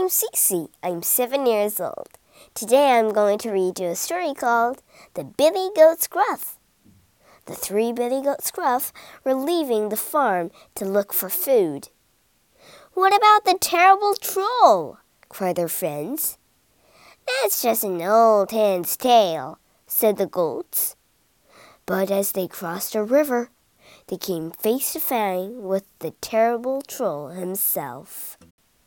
I'm Cece. I'm 7 years old. Today I'm going to read you a story called The Billy Goat's Gruff. The 3 Billy Goats Gruff were leaving the farm to look for food. "What about the terrible troll?" cried their friends. "That's just an old hen's tale," said the goats. But as they crossed a river, they came face to face with the terrible troll himself.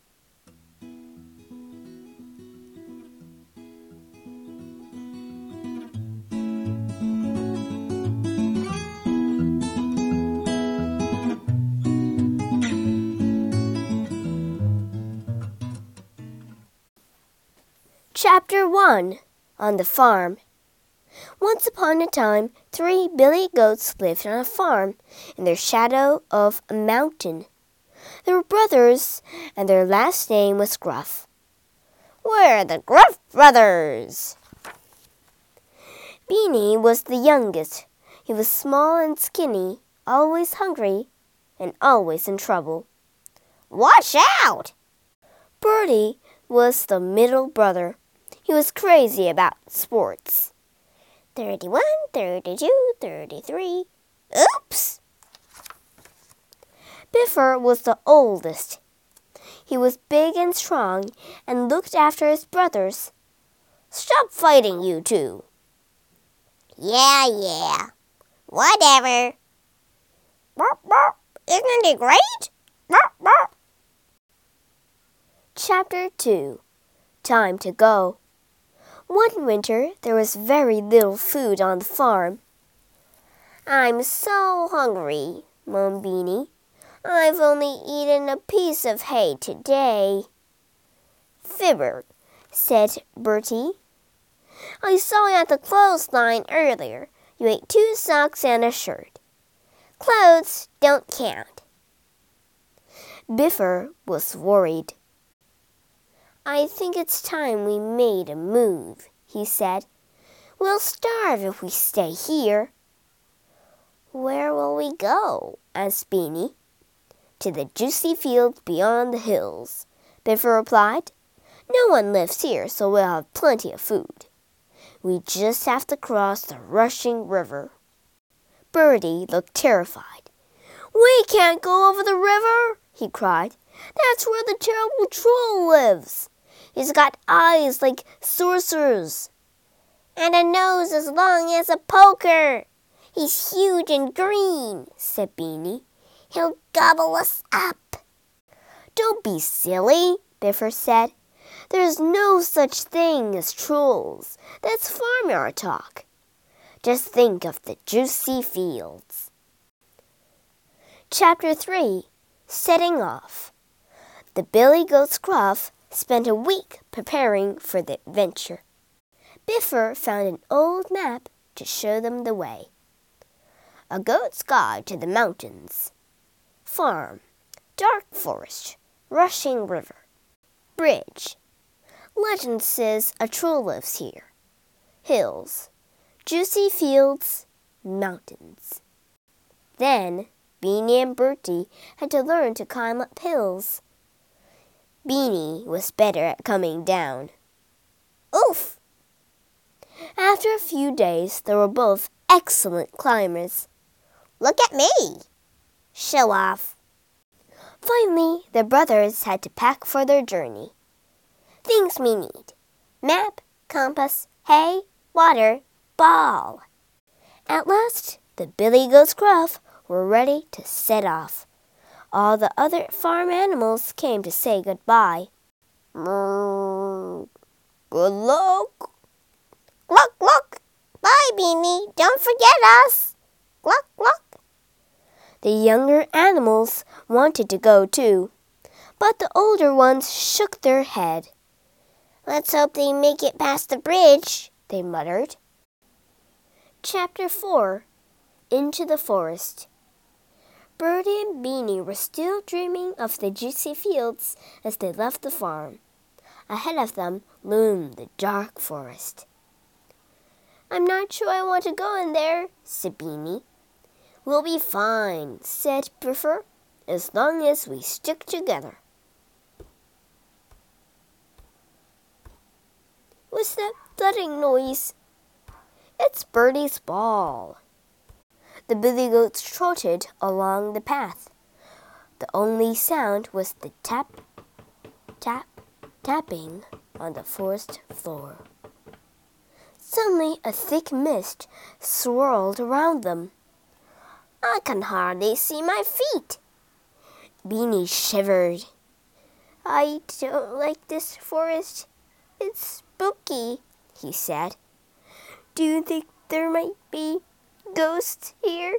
Chapter 1. On the Farm. Once upon a time, 3 Billy Goats lived on a farm in the shadow of a mountain. They were brothers, and their last name was Gruff. "We're the Gruff Brothers." Beanie was the youngest. He was small and skinny, always hungry, and always in trouble. "Watch out!" Bertie was the middle brother. He was crazy about sports. 31, 32, 33. Oops! Biffer was the oldest. He was big and strong and looked after his brothers. "Stop fighting, you two." Yeah. Whatever. Burp, burp. Isn't it great? Burp, burp. Chapter 2. Time to go. One winter, there was very little food on the farm. "I'm so hungry," moaned Beanie. "I've only eaten a piece of hay today." "Fibber," said Bertie. "I saw you at the clothesline earlier. You ate 2 socks and a shirt. Clothes don't count." Biffer was worried. "I think it's time we made a move," he said. "We'll starve if we stay here." "Where will we go?" asked Beanie. "To the juicy fields beyond the hills," Biffer replied. "No one lives here, so we'll have plenty of food. We just have to cross the rushing river." Bertie looked terrified. "We can't go over the river," he cried. "That's where the terrible troll lives. He's got eyes like sorcerers, and a nose as long as a poker. He's huge and green," said Beanie. "He'll gobble us up." "Don't be silly," Biffer said. "There's no such thing as trolls. That's farmyard talk. Just think of the juicy fields." Chapter 3. Setting Off. The Billy Goats Gruff spent a week preparing for the adventure. Biffer found an old map to show them the way. A Goat's Guide to the Mountains. Farm. Dark forest. Rushing river. Bridge. Legend says a troll lives here. Hills. Juicy fields. Mountains. Then Beanie and Bertie had to learn to climb up hills. Beanie was better at coming down. Oof! After a few days, they were both excellent climbers. "Look at me!" "Show off." Finally, the brothers had to pack for their journey. Things we need: map, compass, hay, water, ball. At last, the Billy Goats Gruff were ready to set off. All the other farm animals came to say goodbye. "Good luck." "Gluck, gluck. Bye, Beanie. Don't forget us." "Gluck, gluck." The younger animals wanted to go too, but the older ones shook their head. "Let's hope they make it past the bridge," they muttered. Chapter 4. Into the Forest. Bertie and Beanie were still dreaming of the juicy fields as they left the farm. Ahead of them loomed the dark forest. "I'm not sure I want to go in there," said Beanie. "We'll be fine," said Biffer, "as long as we stick together." What's that thudding noise? It's Bertie's ball. The billy goats trotted along the path. The only sound was the tap, tap, tapping on the forest floor. Suddenly a thick mist swirled around them. I can hardly see my feet. Beanie shivered. I don't like this forest. It's spooky, he said. Do you think there might be ghosts here?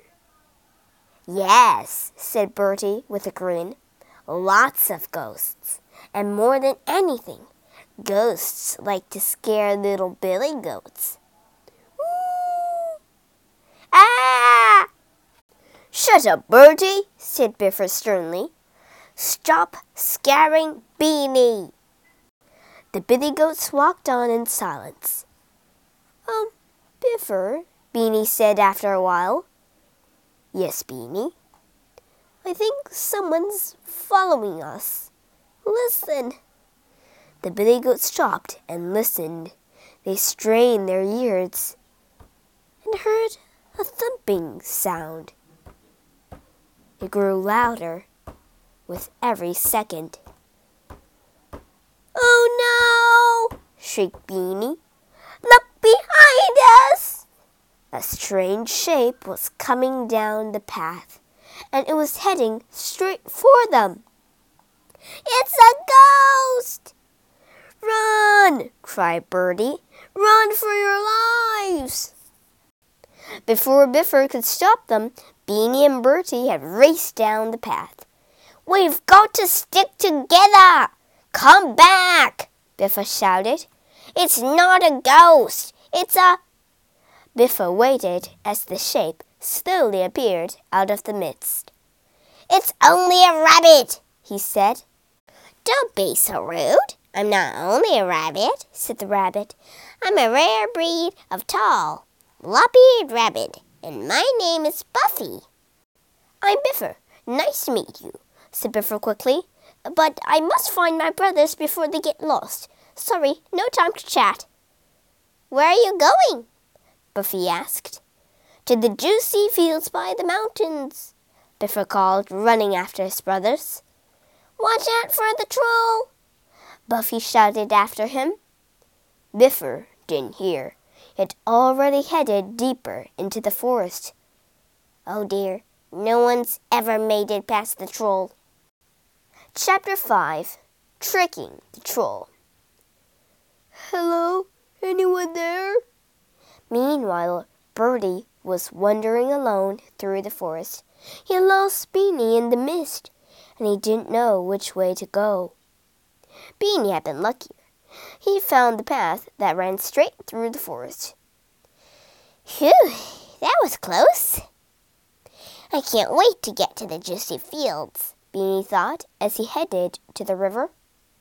Yes, said Bertie with a grin. Lots of ghosts. And more than anything, ghosts like to scare little billy goats. Woo! Ah! Shut up, Bertie, said Biffer sternly. Stop scaring Beanie. The billy goats walked on in silence. Biffer, Beanie said after a while. Yes, Beanie. I think someone's following us. Listen. The billy goats stopped and listened. They strained their ears and heard a thumping sound. It grew louder with every second. Oh no! shrieked Beanie. Look behind us! A strange shape was coming down the path, and it was heading straight for them. It's a ghost! Run! cried Bertie. Run for your lives! Before Biffer could stop them, Beanie and Bertie had raced down the path. We've got to stick together! Come back! Biffer shouted. It's not a ghost. It's a... Biffer waited as the shape slowly appeared out of the mist. It's only a rabbit, he said. Don't be so rude. I'm not only a rabbit, said the rabbit. I'm a rare breed of tall, lop-eared rabbit, and my name is Buffy. I'm Biffer. Nice to meet you, said Biffer quickly. But I must find my brothers before they get lost. Sorry, no time to chat. Where are you going? Buffy asked. To the juicy fields by the mountains, Biffer called, running after his brothers. Watch out for the troll! Buffy shouted after him. Biffer didn't hear. He had already headed deeper into the forest. Oh dear, no one's ever made it past the troll. Chapter 5. Tricking the Troll. Hello? Anyone there? Meanwhile, Bertie was wandering alone through the forest. He had lost Beanie in the mist, and he didn't know which way to go. Beanie had been luckier. He found the path that ran straight through the forest. Phew, that was close. I can't wait to get to the juicy fields, Beanie thought as he headed to the river.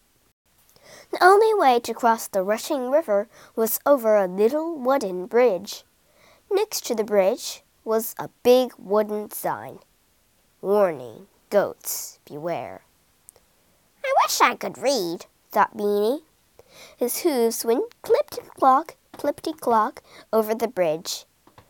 The only way to cross the rushing river was over a little wooden bridge. Next to the bridge was a big wooden sign. Warning, goats, beware. I wish I could read, thought Beanie. His hooves went clippity-clop over the bridge.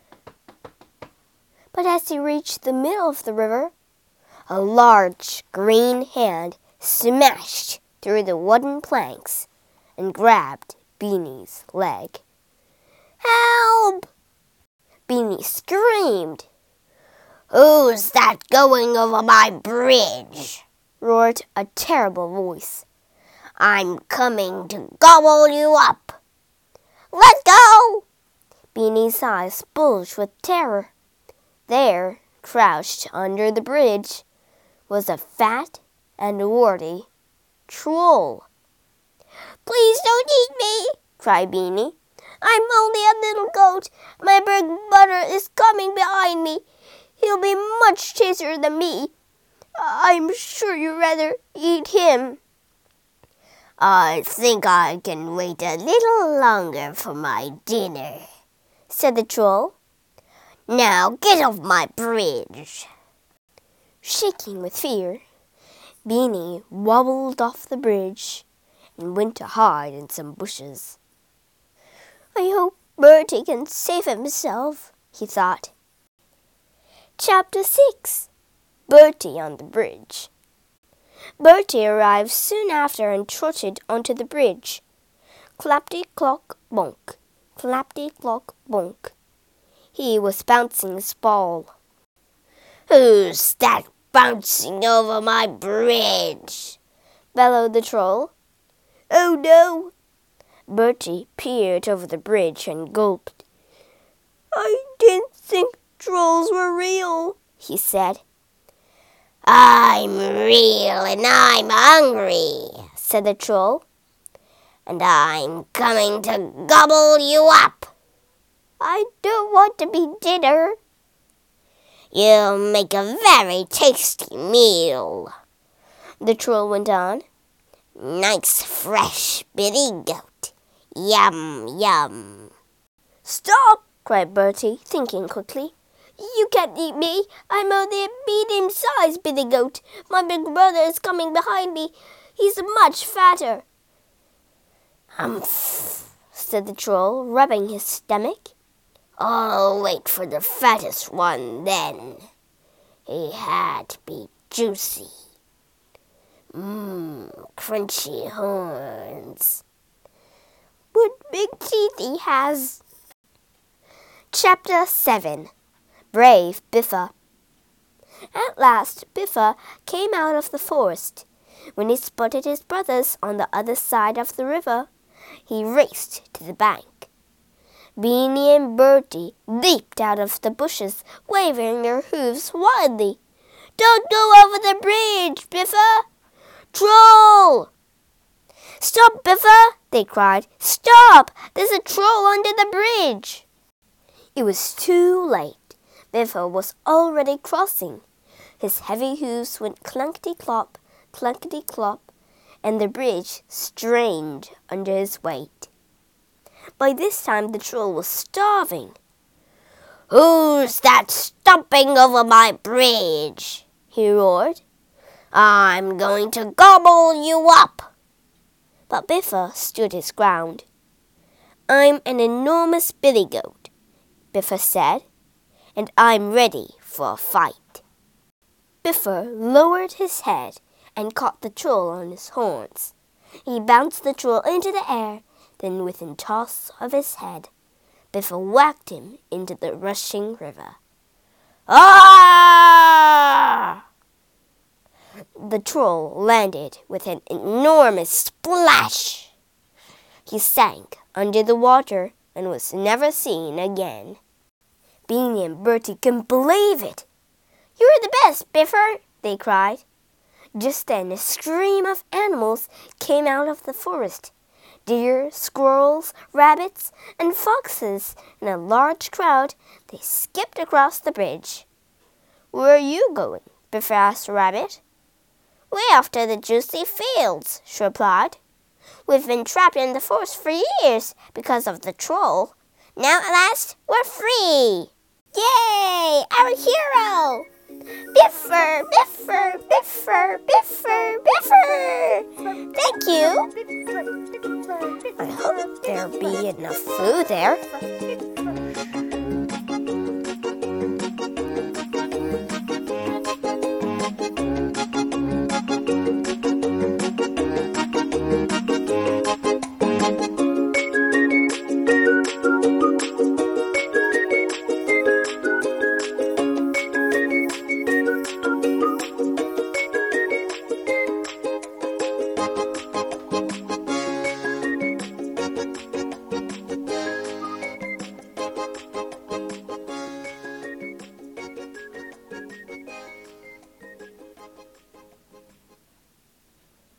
But as he reached the middle of the river, a large green hand smashed through the wooden planks and grabbed Beanie's leg. Help! Beanie screamed. Who's that going over my bridge? Roared a terrible voice. I'm coming to gobble you up. Let go! Beanie's eyes bulged with terror. There, crouched under the bridge, was a fat and warty troll. Please don't eat me, cried Beanie. I'm only a little goat. My big brother is coming behind me. He'll be much chaser than me. I'm sure you'd rather eat him. I think I can wait a little longer for my dinner, said the troll. Now get off my bridge. Shaking with fear, Beanie wobbled off the bridge and went to hide in some bushes. I hope Bertie can save himself, he thought. Chapter 6. Bertie on the Bridge. Bertie arrived soon after and trotted onto the bridge. Clapty-clock-bonk, clapty-clock-bonk. He was bouncing his ball. "Who's that bouncing over my bridge?" bellowed the troll. "Oh no!" Bertie peered over the bridge and gulped. "I didn't think trolls were real," he said. "I'm real and I'm hungry," said the troll. "And I'm coming to gobble you up." "I don't want to be dinner." "You'll make a very tasty meal," the troll went on. "Nice fresh Billy goat. Yum, yum." "Stop!" cried Bertie, thinking quickly. "You can't eat me. I'm only a medium-sized Billy goat. My big brother is coming behind me. He's much fatter." "Humph," said the troll, rubbing his stomach. "I'll wait for the fattest one then. He had to be juicy. Crunchy horns. What big teeth he has." Chapter 7. Brave Biffa. At last Biffa came out of the forest. When he spotted his brothers on the other side of the river, he raced to the bank. Beanie and Bertie leaped out of the bushes, waving their hooves wildly. "Don't go over the bridge, Biffa!" "Troll!" "Stop, Biffa!" they cried. "Stop! There's a troll under the bridge!" It was too late. Biffa was already crossing. His heavy hooves went clunkety-clop, clunkety-clop, and the bridge strained under his weight. By this time the troll was starving. "Who's that stomping over my bridge?" he roared. "I'm going to gobble you up." But Biffa stood his ground. "I'm an enormous billy goat," Biffa said, "and I'm ready for a fight." Biffa lowered his head and caught the troll on his horns. He bounced the troll into the air, then with a toss of his head, Biffa whacked him into the rushing river. "Ah!" The troll landed with an enormous splash. He sank under the water and was never seen again. Beanie and Bertie couldn't believe it. "You're the best, Biffa!" they cried. Just then a scream of animals came out of the forest. Deer, squirrels, rabbits, and foxes in a large crowd. They skipped across the bridge. "Where are you going?" Biffa asked Rabbit. "Way off to the juicy fields," she replied. "We've been trapped in the forest for years because of the troll. Now at last we're free. Yay! Our hero! Biffa, Biffa, Biffa, Biffa, Biffa! Thank you. I hope there'll be enough food there."